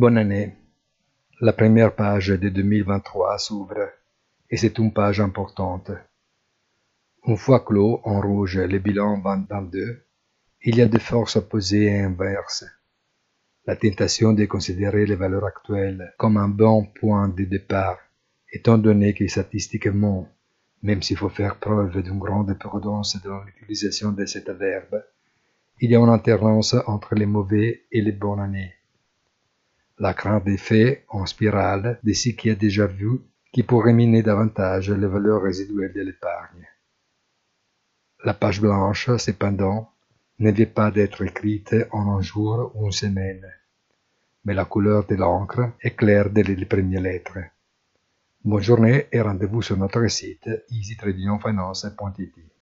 Bonne année. La première page de 2023 s'ouvre et c'est une page importante. Une fois clos en rouge le bilan 2022, il y a des forces opposées et inverses. La tentation de considérer les valeurs actuelles comme un bon point de départ, étant donné que statistiquement, même s'il faut faire preuve d'une grande prudence dans l'utilisation de cet verbe, il y a une alternance entre les mauvais et les bonnes années. La crainte des faits en spirale de ce qui est déjà vu qui pourrait miner davantage les valeurs résiduelles de l'épargne. La page blanche, cependant, ne vient pas d'être écrite en un jour ou une semaine, mais la couleur de l'encre est claire dès les premières lettres. Bonne journée et rendez-vous sur notre site easy-finance.it.